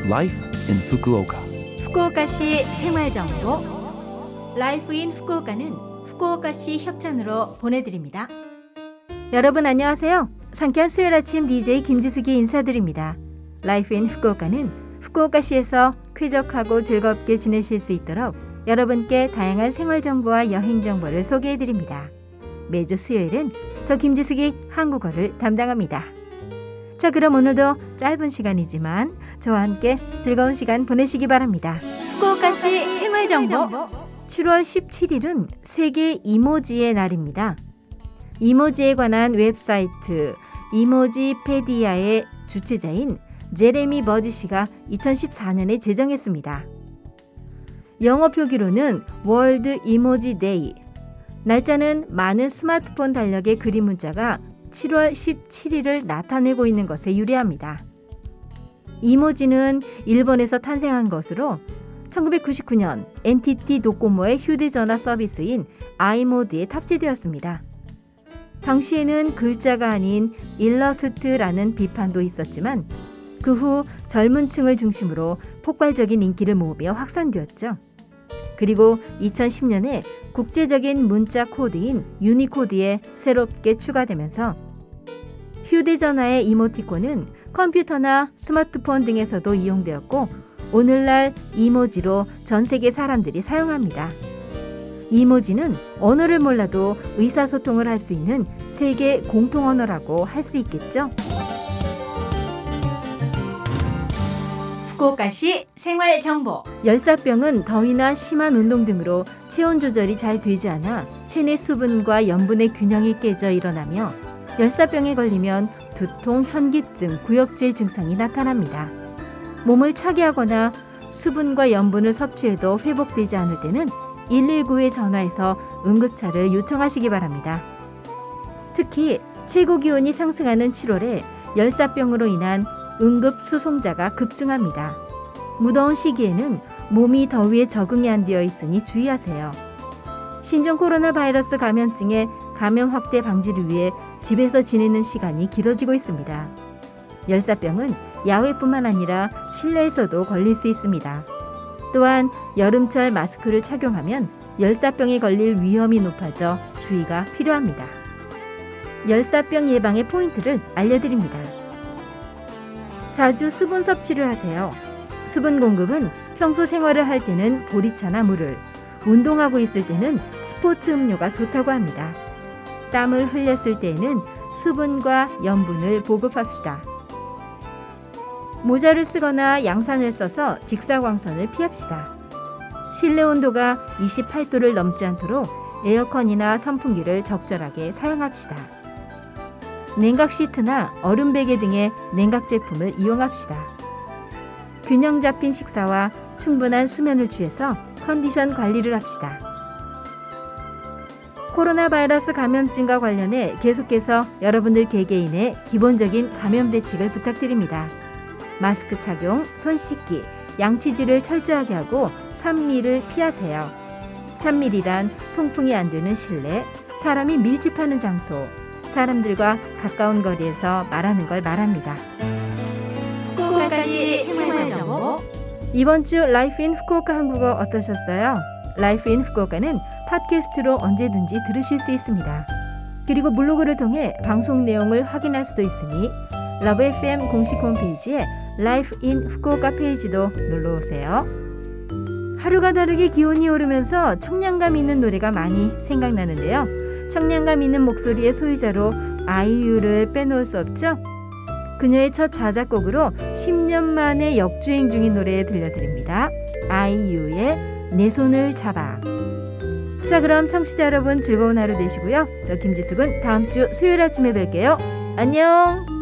Life in Fukuoka. 후쿠오카시 생활정보 라이프 인 후쿠오카는 후쿠오카시 협찬으로 보내드립니다. 여러분 안녕하세요. 상쾌한 수요일 아침 DJ 김지숙이 인사드립니다. 라이프 인 후쿠오카는 후쿠오카시에서 쾌적하고 즐겁게 지내실 수 있도록 여러분께 다양한 생활정보와 여행정보를 소개해드립니다. 매주 수요일은 저 김지숙이 한국어를 담당합니다. 자, 그럼 오늘도 짧은 시간이지만 저와 함께 즐거운 시간 보내시기 바랍니다. 후쿠오카시 생활정보 7월 17일은 세계 이모지의 날입니다. 이모지에 관한 웹사이트 이모지페디아의 주최자인 제레미 버지 씨가 2014년에 제정했습니다. 영어 표기로는 월드 이모지 데이, 날짜는 많은 스마트폰 달력의 그림 문자가 7월 17일을 나타내고 있는 것에 유리합니다. 이모지는 일본에서 탄생한 것으로 1999년 NTT 도코모의 휴대전화 서비스인 아이모드에 탑재되었습니다. 당시에는 글자가 아닌 일러스트라는 비판도 있었지만 그 후 젊은 층을 중심으로 폭발적인 인기를 모으며 확산되었죠. 그리고 2010년에 국제적인 문자 코드인 유니코드에 새롭게 추가되면서 휴대전화의 이모티콘은 컴퓨터나 스마트폰 등에서도 이용되었고 오늘날 이모지로 전 세계 사람들이 사용합니다. 이모지는 언어를 몰라도 의사소통을 할 수 있는 세계 공통언어라고 할 수 있겠죠. 후쿠오카시 생활정보 열사병은 더위나 심한 운동 등으로 체온 조절이 잘 되지 않아 체내 수분과 염분의 균형이 깨져 일어나며 열사병에 걸리면 두통, 현기증, 구역질 증상이 나타납니다. 몸을 차게 하거나 수분과 염분을 섭취해도 회복되지 않을 때는 119에 전화해서 응급차를 요청하시기 바랍니다. 특히 최고 기온이 상승하는 7월에 열사병으로 인한 응급 수송자가 급증합니다. 무더운 시기에는 몸이 더위에 적응이 안 되어 있으니 주의하세요. 신종 코로나 바이러스 감염증의 감염 확대 방지를 위해 집에서 지내는 시간이 길어지고 있습니다. 열사병은 야외뿐만 아니라 실내에서도 걸릴 수 있습니다. 또한 여름철 마스크를 착용하면 열사병에 걸릴 위험이 높아져 주의가 필요합니다. 열사병 예방의 포인트를 알려드립니다. 자주 수분 섭취를 하세요. 수분 공급은 평소 생활을 할 때는 보리차나 물을, 운동하고 있을 때는 스포츠 음료가 좋다고 합니다. 땀을 흘렸을 때에는 수분과 염분을 보급합시다. 모자를 쓰거나 양산을 써서 직사광선을 피합시다. 실내 온도가 28도를 넘지 않도록 에어컨이나 선풍기를 적절하게 사용합시다. 냉각 시트나 얼음 베개 등의 냉각 제품을 이용합시다. 균형 잡힌 식사와 충분한 수면을 취해서 컨디션 관리를 합시다. 코로나 바이러스 감염증과 관련해 계속해서 여러분들 개개인의 기본적인 감염 대책을 부탁드립니다. 마스크 착용, 손 씻기, 양치질을 철저하게 하고 산미를 피하세요. 산밀이란 통풍이 안 되는 실내, 사람이 밀집하는 장소, 사람들과 가까운 거리에서 말하는 걸 말합니다. 후쿠오카시 생활정보 이번 주 라이프 인 후쿠오카 한국어 어떠셨어요? 라이프 인 후쿠오카는 팟캐스트로 언제든지 들으실 수 있습니다. 그리고 블로그를 통해 방송 내용을 확인할 수도 있으니 러브 FM 공식 홈페이지에 라이프 인 후쿠오카 페이지도 놀러오세요. 하루가 다르게 기온이 오르면서 청량감 있는 노래가 많이 생각나는데요. 청량감 있는 목소리의 소유자로 아이유를 빼놓을 수 없죠. 그녀의 첫 자작곡으로 10년 만에 역주행 중인 노래 들려드립니다. 아이유의 내 손을 잡아. 자, 그럼 청취자 여러분 즐거운 하루 되시고요. 저 김지숙은 다음 주 수요일 아침에 뵐게요. 안녕.